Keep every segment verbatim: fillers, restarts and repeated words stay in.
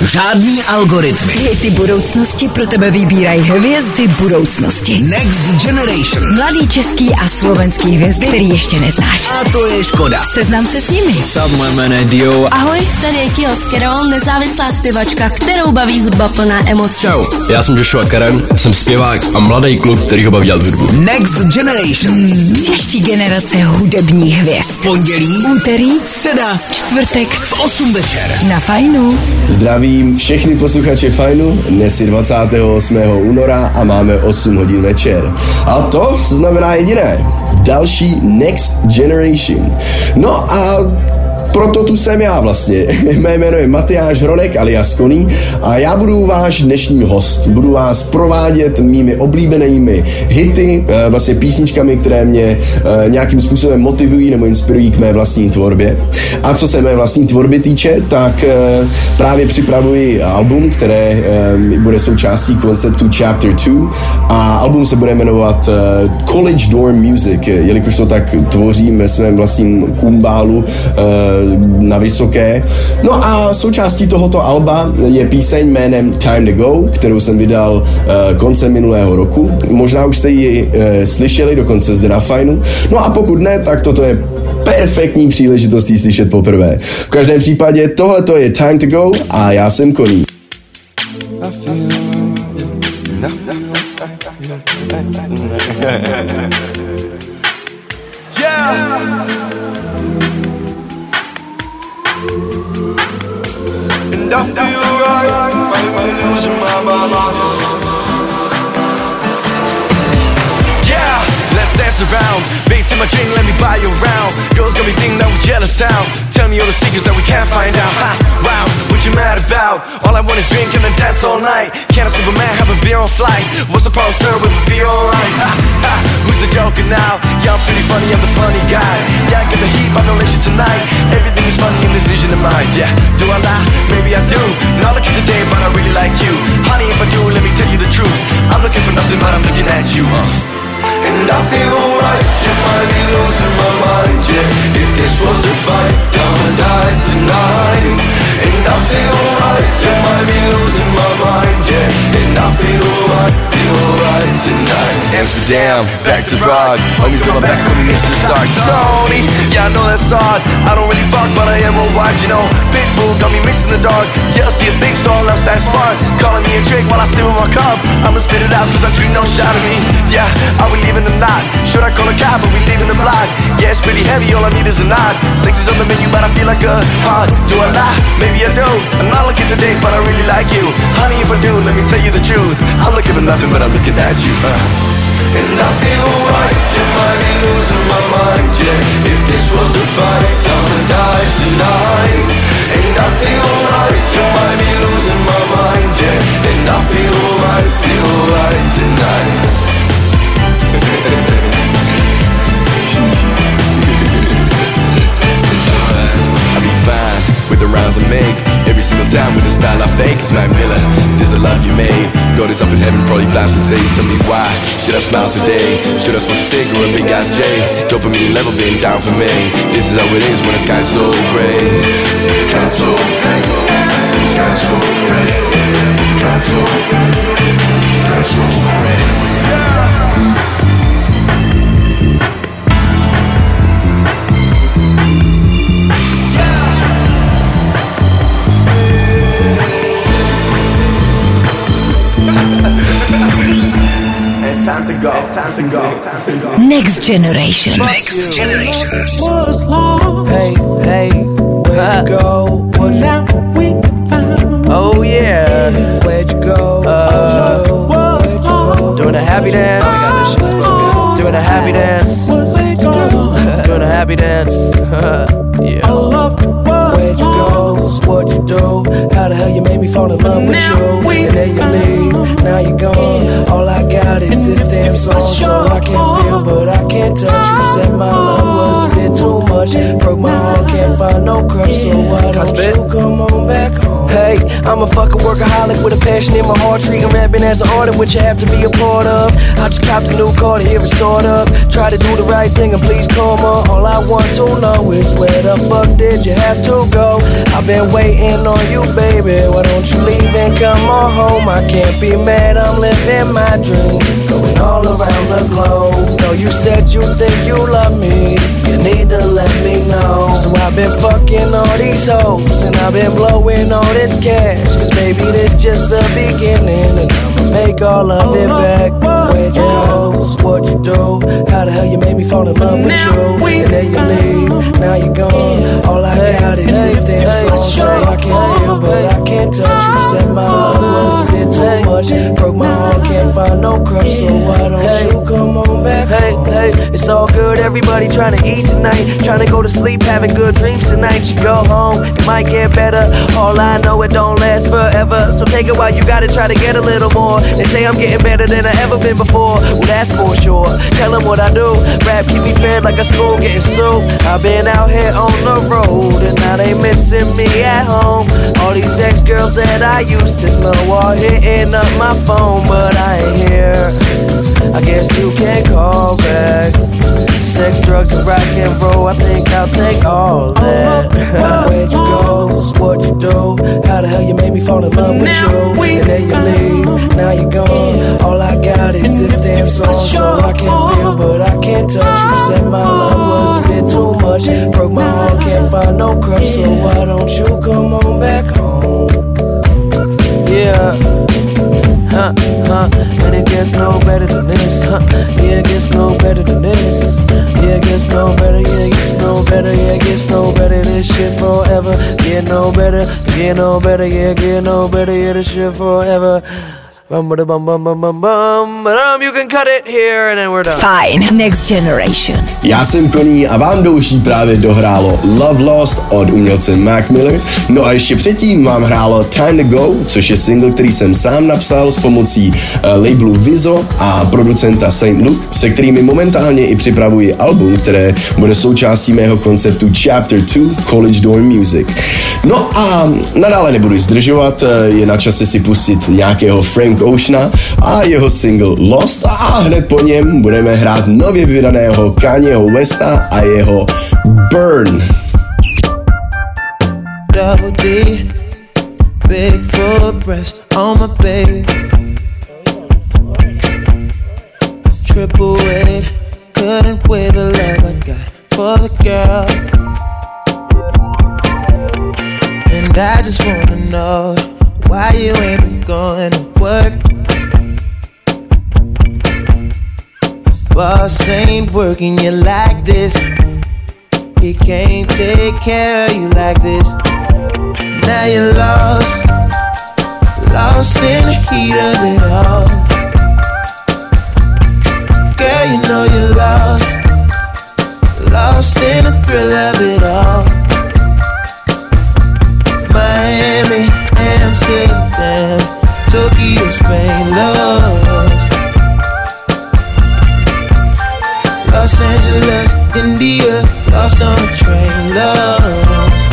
žádný algoritmy. Hity budoucnosti pro tebe vybírají hvězdy budoucnosti. Next Generation. Mladý český a slovenský hvězdy, který ještě neznáš. A to je škoda. Seznam se s nimi. Sup, moje jméno je Dio. Ahoj, tady je Kio Skero, nezávislá zpěvačka, kterou baví hudba plná emocí. Čau, já jsem Joshua Karen, jsem zpěvák a mladý kluk, který ho baví dělat hudbu. Next Generation. Hmm, příští generace hudebních hvězd. Pondělí, úterý, středa, čtvrtek v osm večer. Na Fajnu. Zdravím všechny posluchače Fajnu, dnes je dvacátého osmého února a máme osm hodin večer. A to znamená jediné, další Next Generation. No a proto tu jsem já vlastně. Mé jméno je Matyáš Hronek alias Koný a já budu váš dnešní host. Budu vás provádět mými oblíbenými hity, vlastně písničkami, které mě nějakým způsobem motivují nebo inspirují k mé vlastní tvorbě. A co se mé vlastní tvorby týče, tak právě připravuji album, které bude součástí konceptu Chapter dva a album se bude jmenovat College Dorm Music, jelikož to tak tvořím ve svém vlastním kumbálu na Vysoké. No a součástí tohoto alba je píseň jménem Time to Go, kterou jsem vydal uh, koncem minulého roku. Možná už jste ji uh, slyšeli, dokonce zde na Fajnu. No a pokud ne, tak toto je perfektní příležitost ji slyšet poprvé. V každém případě tohleto je Time to Go a já jsem Koný. Yeah. And I feel right, might be losing my mind. Yeah, let's dance around. Beat to my king, let me buy you around. Girls got me think that we're jealous now. Tell me all the secrets that we can't find out. Ha, wow, what you mad about? All I want is drink and then dance all night. Can't a Superman have a beer on flight? What's the problem, sir? We'll be alright. Ha, ha, who's the joker now? Yeah, I'm pretty funny, I'm the funny guy. Yeah, I get the heat, but no leisure tonight. Everything is funny in this vision of mine. Yeah, do I lie? Maybe I do. Not looking today, but I really like you. Honey, if I do, let me tell you the truth. I'm looking for nothing, but I'm looking at you. Uh. And I feel right, you might be losing my mind, yeah. If this was a fight, I'ma die tonight. And I feel right, you might be losing my mind, yeah. And I feel right, feel right tonight. Amsterdam, back to Prague. Homies got my back when we miss the start. Tony, yeah, I know that's hard. I don't really fuck, but I am a wide, you know. Pitbull got me missing the dark. Jealousy of things, all else that's fun. Calling me a trick while I sip with my cup. I'ma spit it out cause I drink no shot of me. Yeah, I will leave in the night. Should I call a cab, but we leaving the block? Yeah, it's pretty heavy, all I need is a nod. Sex is on the menu, but I feel like a hard. Do I lie? Maybe I do. I'm not looking today, but I really like you. Honey, if I do, let me tell you the truth. I'm looking for nothing, but I'm looking at you. uh. And I feel right, you might be losing my mind, yeah. If this was a fight, I'ma die tonight. And I feel right, you might be losing my mind, yeah. And I feel right, feel right tonight. I'll be fine with the rounds I make. Every single time with the style I fake. It's Mac Miller, there's a love you made. God is up in heaven, probably blasting today. Tell me why, should I smile today? Should I smoke a cig or a big ass J? Dopamine level being down for me. This is how it is when the sky's so gray. The sky's so gray. The sky's so gray. The sky's so gray. The sky's so gray. Yeah. It's time to go. It's time to go. Time to go. Next Generation. Next Generation. Hey, hey, where'd you go? What now we found? Oh yeah, where'd you go? Uh, where'd you go? Doing a happy dance. I got this shit spoken. Doing a happy dance. Doing a happy dance. Yeah. I love. Where'd you go? What'd you do? How the hell you made me fall in love with you? And then you leave, now you're gone. All I got is this damn song. So I can feel, but I can't touch. You said my love was a bit too much. Broke my heart, can't find no crush. So why don't you come on back home? Hey. Hey, I'm a fucking workaholic with a passion in my heart, treating rapping as an art, which you have to be a part of. I just copped a new car to hear it start up. Try to do the right thing and please come on. All I want to know is where the fuck did you have to go? I've been waiting on you, baby. Why don't you leave and come on home? I can't be mad, I'm living my dream, going all around the globe. No, you said you think you love me, you need to let me know. So I've been fucking all these hoes, and I've been blowing all this cash, cause baby this just the beginning, and I'ma make all of it back. Where'd you go? What'd you do? How the hell you made me fall in love with you? And then you leave, now you're gone. All I got is this damn song, so I can feel but I can't touch. You said my love was a bit too much, broke my heart, can't find no crush, so why don't you come on back? Hey, hey, it's all good, everybody trying to eat tonight, trying to go to sleep, having good dreams tonight. You go home, it might get better, all I know it don't last forever, so take it while you got it, try to get a little more. They say I'm getting better than I ever been before, well that's for sure. Tell them what I do, rap keep me fed like a school getting sued. I've been out here on the road, and now they missing me at home. All these ex-girls that I used to know are hitting up my phone, but I ain't here, I guess you can't call back. Sex, drugs, and rock and roll, I think I'll take all that. Where'd you go? What'd you do? How the hell you made me fall in love with you? And then you leave, now you're gone. All I got is this damn song, so I can feel but I can't touch. You said my love was a bit too much, broke my heart, can't find no crush, so why don't you come on back home? Yeah. Huh, huh, and it gets no better than this, huh, yeah, it gets no better than this, yeah, it gets no better, yeah, it gets no better, yeah, it gets no better, this shit forever, get no better, get no better, yeah, get no better, yeah, this shit forever. Bum, bum, bum, bum, bum, bum, bum. You can cut it here and then we're done. Fajn, Next Generation. Já jsem Koní a vám douší právě dohrálo Love Lost od umělce Mac Miller. No a ještě předtím vám hrálo Time to Go, což je single, který jsem sám napsal s pomocí uh, labelu Vizo a producenta Saint Luke, se kterými momentálně i připravuji album, které bude součástí mého konceptu Chapter two College Dorm Music. No a nadále nebudu zdržovat, je na čase si pustit nějakého Frank Oceana a jeho single Lost a hned po něm budeme hrát nově vydaného Kanyeho Westa a jeho Burn. Double D, big full breast on my baby. Triple weight, couldn't weigh the love I got for the girl. And I just wanna know why you ain't been going to work. Boss ain't working you like this. He can't take care of you like this. Now you're lost, lost in the heat of it all. Girl, you know you're lost, lost in the thrill of it all. Miami, Amsterdam, Tokyo, Spain, lost. Los Angeles, India, lost on a train, lost.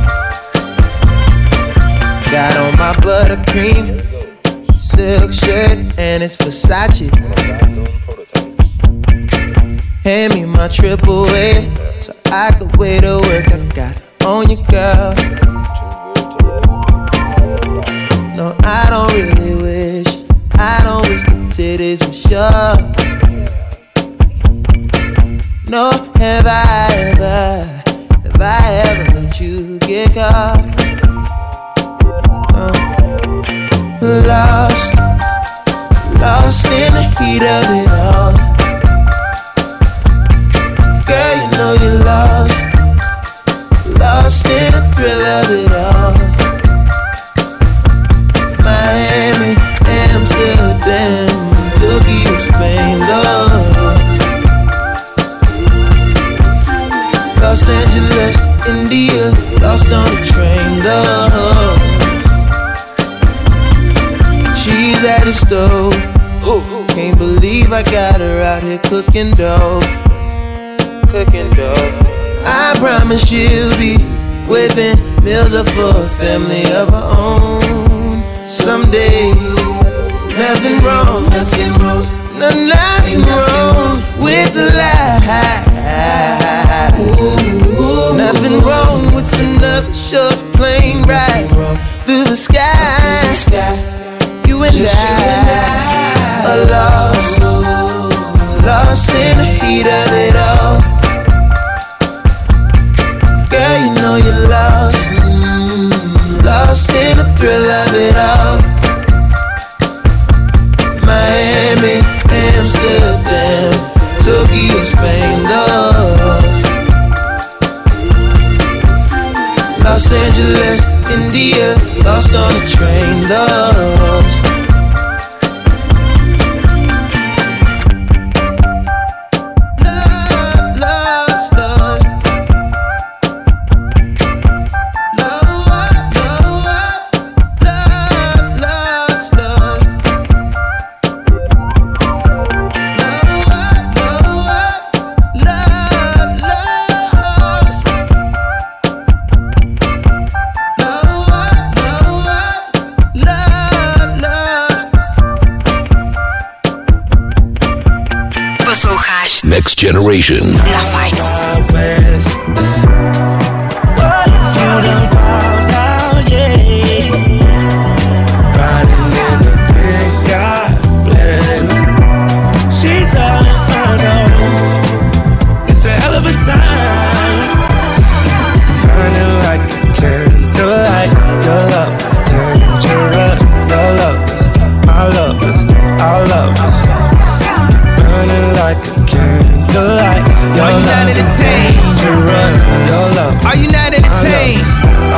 Got on my buttercream silk shirt and it's Versace. Hand me my triple A so I could wear the work I got on you, girl. No, I don't really wish, I don't wish the titties were sure. No, have I ever, have I ever let you get caught? No. Lost, lost in the heat of it all. Girl, you know you're lost, lost in the thrill of it all. Miami, Amsterdam, Tokyo, Spain, lost. Los Angeles, India, lost on the train, lost. She's at the stove, can't believe I got her out here cooking dough. Cooking dough. I promise she'll be whipping Meals are for a family of our own. Someday, nothing wrong, nothing wrong, no, nothing wrong with the life. Nothing wrong with another short plane ride through the sky. You and I are lost, lost in the heat of it all. Girl, you know you're lost, lost in the thrill of it all. Miami, Amsterdam, Tokyo, Spain, lost. Los Angeles, India, lost on a train, lost. Next Generation. Na Fajnu. Are you not entertained? Are you not entertained?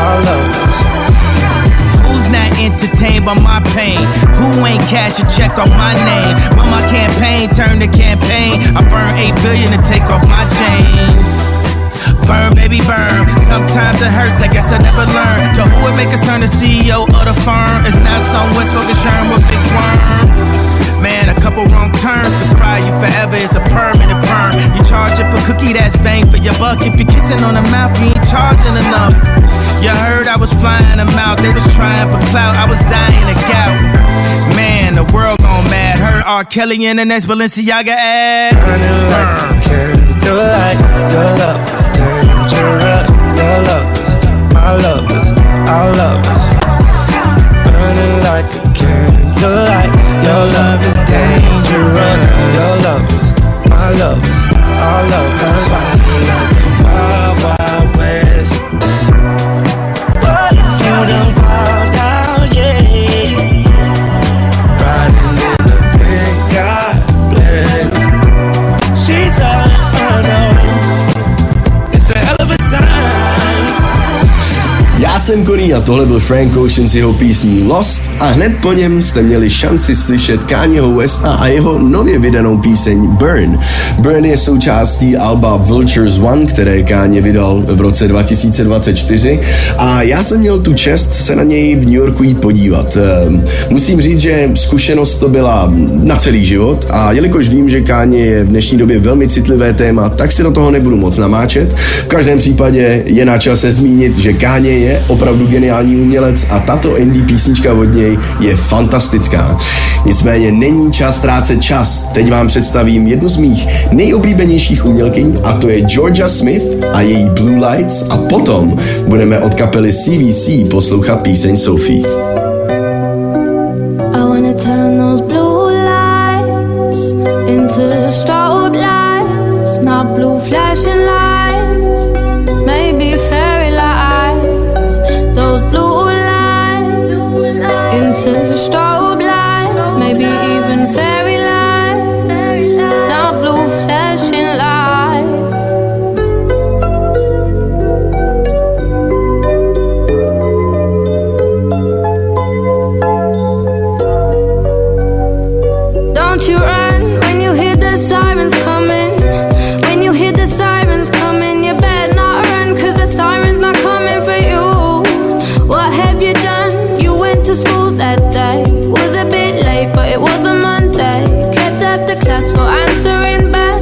Who's not entertained by my pain? Who ain't cash a check off my name? When my campaign turned to campaign, I burned eight billion to take off my chains. Burn, baby, burn. Sometimes it hurts, I guess I never learned. To who would make us turn the C E O of the firm? It's not some West Spoken Sherm with big worm. Man, a couple wrong turns could fry you forever. It's a permanent perm. You charge it for cookie, that's bang for your buck. If you're kissing on the mouth, you ain't charging enough. You heard I was flying them out. They was trying for clout, I was dying of gout. Man, the world gone mad. Heard R. Kelly in the next Balenciaga ad. Burning like a candlelight. Your love is dangerous. Your love is my love is our love is burning like a candlelight. Your love is dangerous. Your love is my love is our love is riding like the wild, wild west. What if you done wild out, yeah? Riding in the big God bless. She's all I know. It's a hell of a time. Já jsem Koný a tohle byl Frank Ocean s jeho písní Lost a hned po něm jste měli šanci slyšet Kanyeho Westa a jeho nově vydanou píseň Burn. Burn je součástí alba Vultures One, které Kanye vydal v roce dva tisíce dvacet čtyři a já jsem měl tu čest se na něj v New Yorku jít podívat. Musím říct, že zkušenost to byla na celý život a jelikož vím, že Kanye je v dnešní době velmi citlivé téma, tak si do toho nebudu moc namáčet. V každém případě je na čase zmínit, že Kanye je opravdu geniální umělec a tato indie písnička od něj je fantastická. Nicméně není čas ztrácet čas. Teď vám představím jednu z mých nejoblíbenějších umělkyň a to je Georgia Smith a její Blue Lights a potom budeme od kapely C V C poslouchat píseň Sophie. I wanna turn those blue lights into strobe lights, not blue flashing lights, maybe fairy lights, those blue lights into strobe lights, maybe even fairy lights, not blue flashing lights. Don't you run when you hear the sirens coming. When you hear the sirens coming, you better not run, cause the sirens not coming for you. What have you done? You went to school that day. Was a bit late, but it was a Monday. Kept after class for answering back.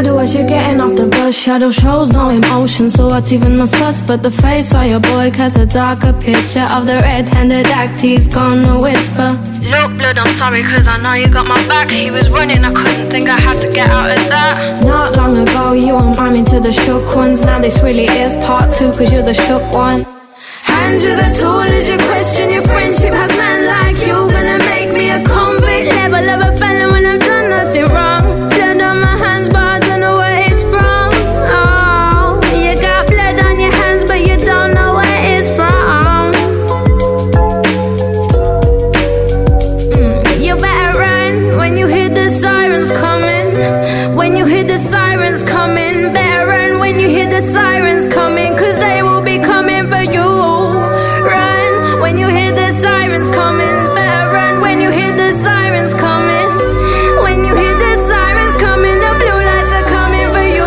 do as you're getting off the bus. Shadow shows no emotion, so what's even the fuss? But the face of your boy casts a darker picture of the red-handed act he's gonna whisper. Look, blood, I'm sorry, cause I know you got my back. He was running, I couldn't think I had to get out of that. Not long ago, you were miming to the shook ones. Now this really is part two, cause you're the shook one. Hand you the tool as you question your friendship. Has man like you gonna make me a convict? Level of a felon when I've done nothing wrong. Blood on my hands, but I don't know where it's from. Oh, you got blood on your hands, but you don't know where it's from. Mm, you better run when you hear the sirens coming. When you hear the sirens coming, better run when you hear the sirens coming, cause they will be coming for you. Run when you hear the sirens coming, better run when you hear the sirens coming. When you hear the sirens coming, the blue lights are coming for you.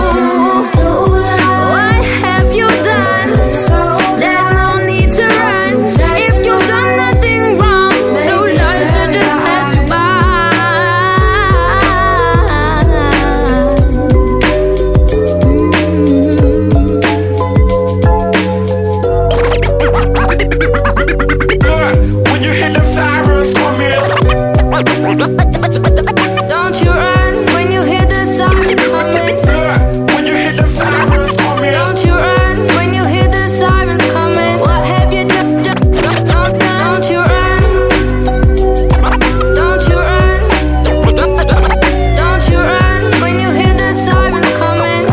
What have you done? There's no need to run. If you've done nothing wrong, blue lights will just pass you by. When you hear the sirens coming, Don't you run when you hear the sirens coming. when you hear the sirens coming, Don't you run when you hear the sirens coming. What have you done? Don't, don't, don't you run. Don't you run. Don't you run when you hear the sirens coming.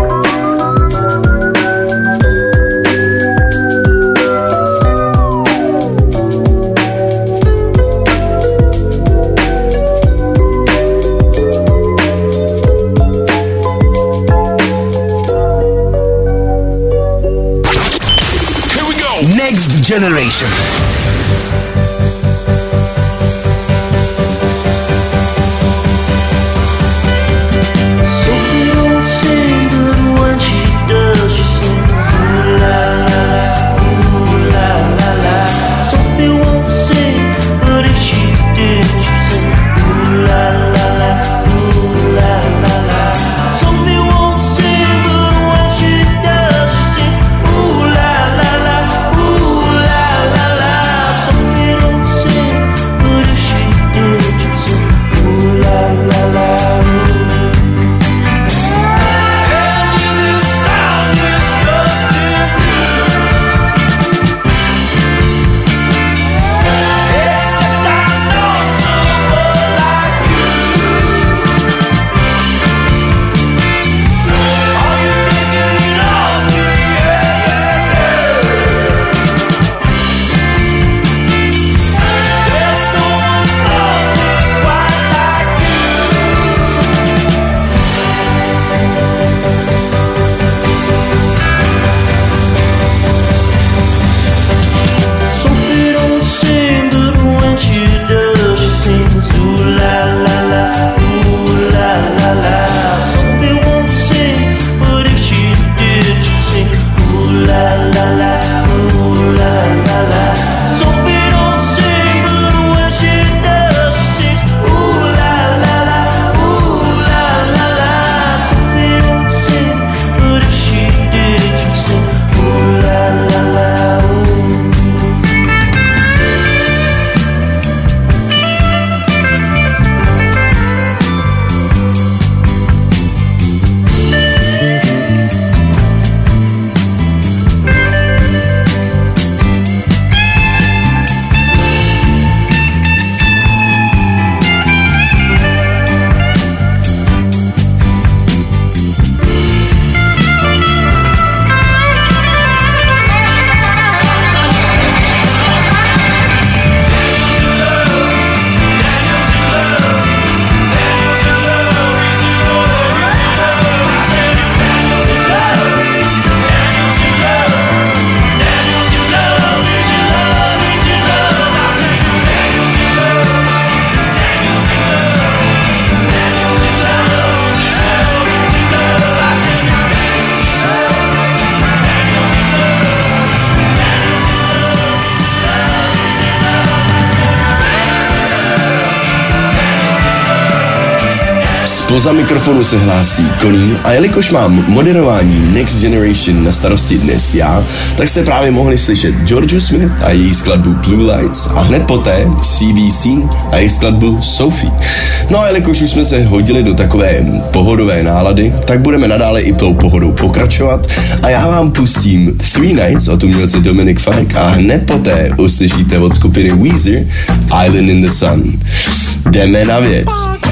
here we go. Next Generation. Sophie don't sing, but when she does, she sings ooh la la la, ooh la la la. Sophie won't sing, but if she did, she'd sing ooh la la la, ooh la la la. Sophie won't sing, but when she does, she sings ooh la la la, ooh la la la. Spoza mikrofonu se hlásí Koní a jelikož mám moderování Next Generation na starosti dnes já, tak jste právě mohli slyšet Georgiu Smith a její skladbu Blue Lights a hned poté C V C a její skladbu Sophie. No a jelikož už jsme se hodili do takové pohodové nálady, tak budeme nadále i tou pohodou pokračovat a já vám pustím Three Nights od umělce Dominic Fike a hned poté uslyšíte od skupiny Weezer Island in the Sun. Jdeme na věc.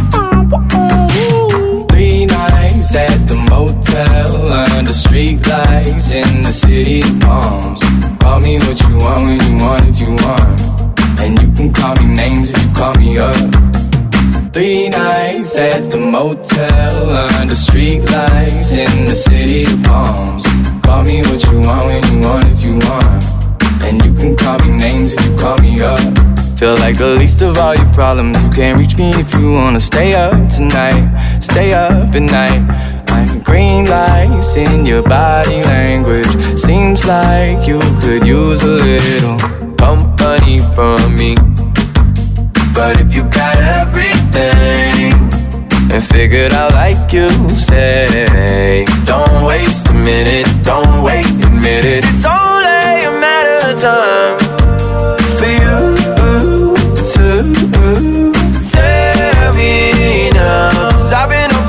Three nights at the motel under street lights in the city of palms. Call me what you want when you want if you want, and you can call me names if you call me up. Three nights at the motel under street lights in the city of palms. Call me what you want when you want if you want, and you can call me names if you call me up. Feel like the least of all your problems. You can't reach me if you wanna stay up tonight. Stay up at night. Like green lights in your body language. Seems like you could use a little company from me. But if you got everything and figured out like you say, don't waste a minute, don't wait, admit it. It's only a matter of time for you to tell me now. 'Cause I've been up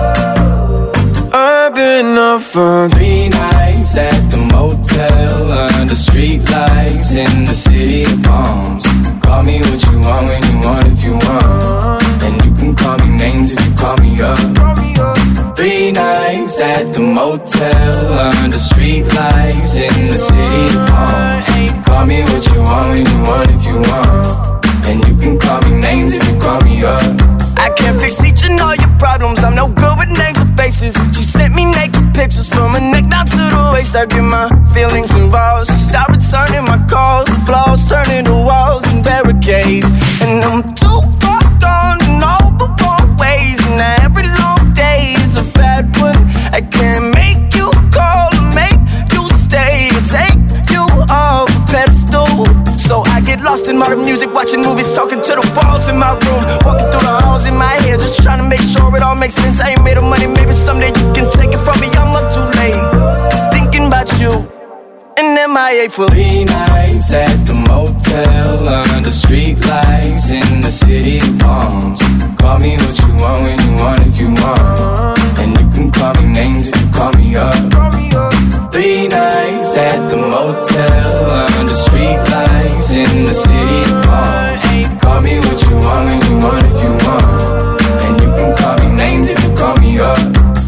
for, I've been up for three nights at the motel under street lights in the city of palms. Call me what you want when you want if you want, and you can call me names if you call me up. Three nights at the motel under street lights in the city of palms. Call me what you want when you want if you want, and you can call me names if you call me up. I can't fix each and all your problems. I'm no good with names or faces. She sent me naked pictures from her neck down to the waist. I get my feelings involved. She stopped returning my calls. The flaws turning to walls and barricades. And I'm too far gone in all the wrong ways. And every long day is a bad one. I can't make you call or make you stay or take you off a pedestal. So I get lost in modern music, watching movies, talking to the walls in my room, walking through the halls in my head, just trying to make sure it all makes sense. I ain't made of money, maybe someday you can take it from me. I'm up too late, thinking about you, and M I A for three nights at the motel under street lights in the city of palms. Call me what you want when you want if you want, and you can call me names if you call me up. Three nights at the motel under street lights in the city of palms. Call me what you want when you want if you want, and you can call me names if you call me up.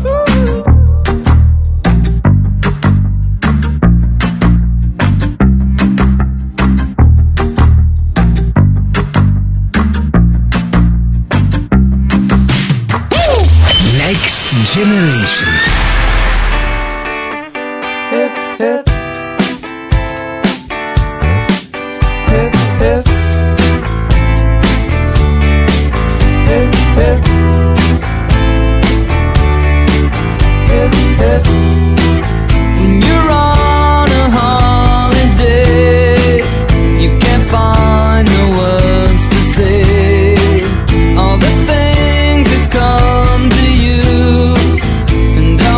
Next Generation. Hip, hip. Hip, hip. Hip, hip. Hip, hip. When you're on a holiday, you can't find the words to say all the things that come to you, and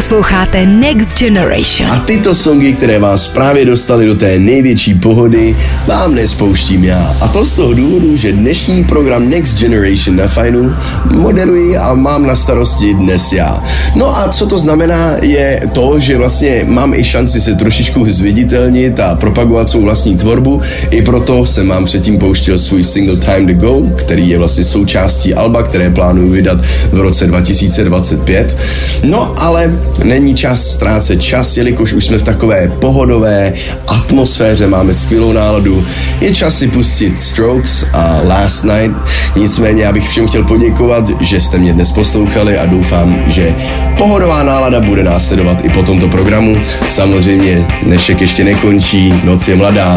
Posloucháte Next Generation. A tyto songy, které vás právě dostaly do té největší pohody, vám nespouštím já. A to z toho důvodu, že dnešní program Next Generation na Fajnu moderuji a mám na starosti dnes já. No a co to znamená, je to, že vlastně mám i šanci se trošičku zviditelnit a propagovat svou vlastní tvorbu. I proto jsem vám předtím pouštěl svůj single Time to Go, který je vlastně součástí alba, které plánuju vydat v roce dva tisíce dvacet pět. No ale není čas ztrácet čas, jelikož už jsme v takové pohodové atmosféře, máme skvělou náladu. Je čas si pustit Strokes a Last Night. Nicméně já bych všem chtěl poděkovat, že jste mě dnes poslouchali a doufám, že pohodová nálada bude následovat i po tomto programu. Samozřejmě dnešek ještě nekončí, noc je mladá.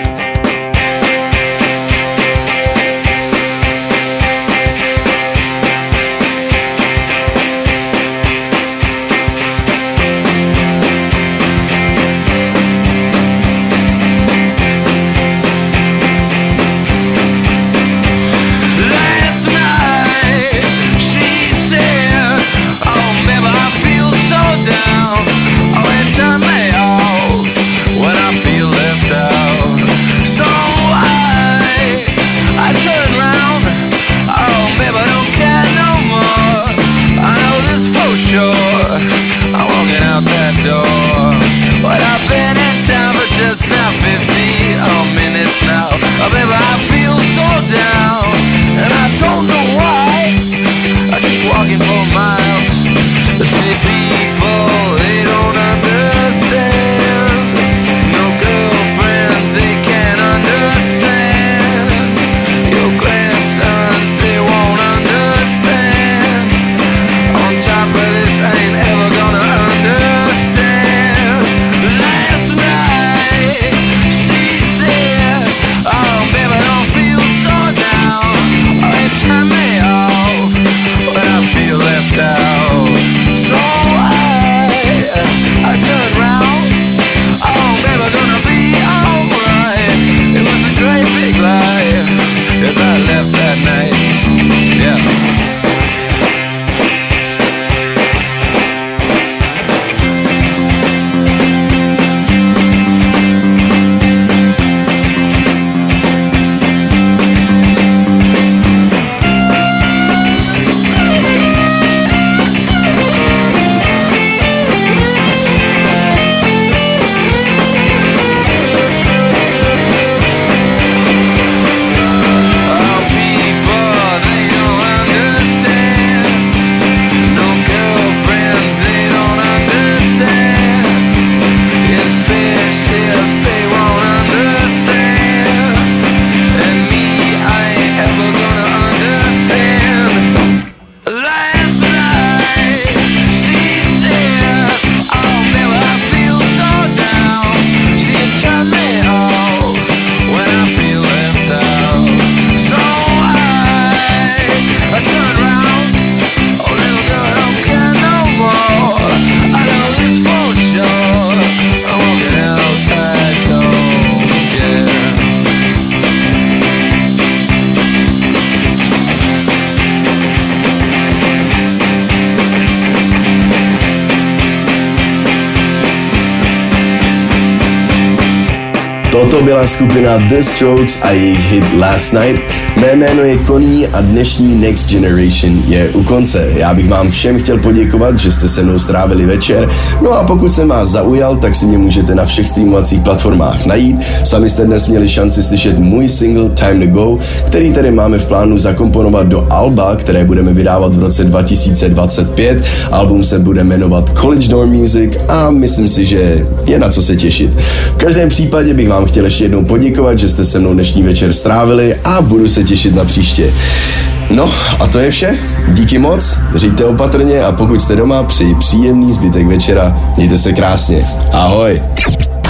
Toto byla skupina The Strokes a jejich hit Last Night. Mé jméno je Connie a dnešní Next Generation je u konce. Já bych vám všem chtěl poděkovat, že jste se mnou strávili večer. No a pokud jsem vás zaujal, tak si mě můžete na všech streamovacích platformách najít. Sami jste dnes měli šanci slyšet můj single Time to Go, který tady máme v plánu zakomponovat do alba, které budeme vydávat v roce dva tisíce dvacet pět. Album se bude jmenovat College Dorm Music a myslím si, že je na co se těšit. V každém případě bych vám chtěl ještě jednou poděkovat, že jste se mnou dnešní večer strávili a budu se těšit na příště. No a to je vše. Díky moc, řiďte opatrně a pokud jste doma, přeji příjemný zbytek večera. Mějte se krásně. Ahoj.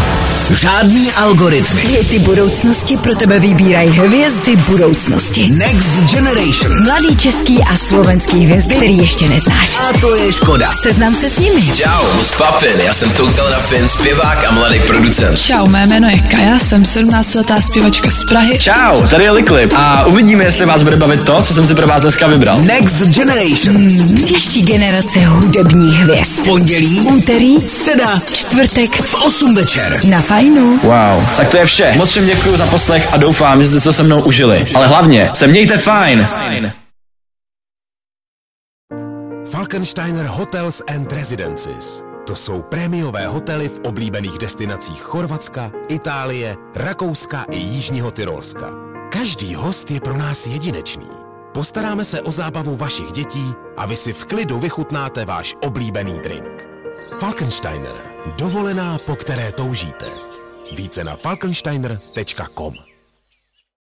Žádný algoritmy. Hity budoucnosti pro tebe vybírají hvězdy budoucnosti. Next Generation. Mladý český a slovenský hvězdy, který ještě neznáš. A to je škoda. Seznam se s nimi. Čau, moc papin, já jsem Total Rafin, zpěvák a mladý producent. Čau, mé jméno je Kaja, jsem sedmnáctiletá zpěvačka z Prahy. Čau, tady je Liklip a uvidíme, jestli vás bude bavit to, co jsem si pro vás dneska vybral. Next Generation. Hmm, příští generace hudebních hvězd. Pondělí, úterý, středa, čtvrtek v osm večer. Na Fajnu. Wow, tak to je vše. Moc všem děkuji za poslech a doufám, že jste to se mnou užili. Ale hlavně se mějte fajn. Falkensteiner Hotels and Residences. To jsou prémiové hotely v oblíbených destinacích Chorvatska, Itálie, Rakouska i Jižního Tyrolska. Každý host je pro nás jedinečný. Postaráme se o zábavu vašich dětí a vy si v klidu vychutnáte váš oblíbený drink. Falkensteiner. Dovolená, po které toužíte. Více na falkensteiner tečka com.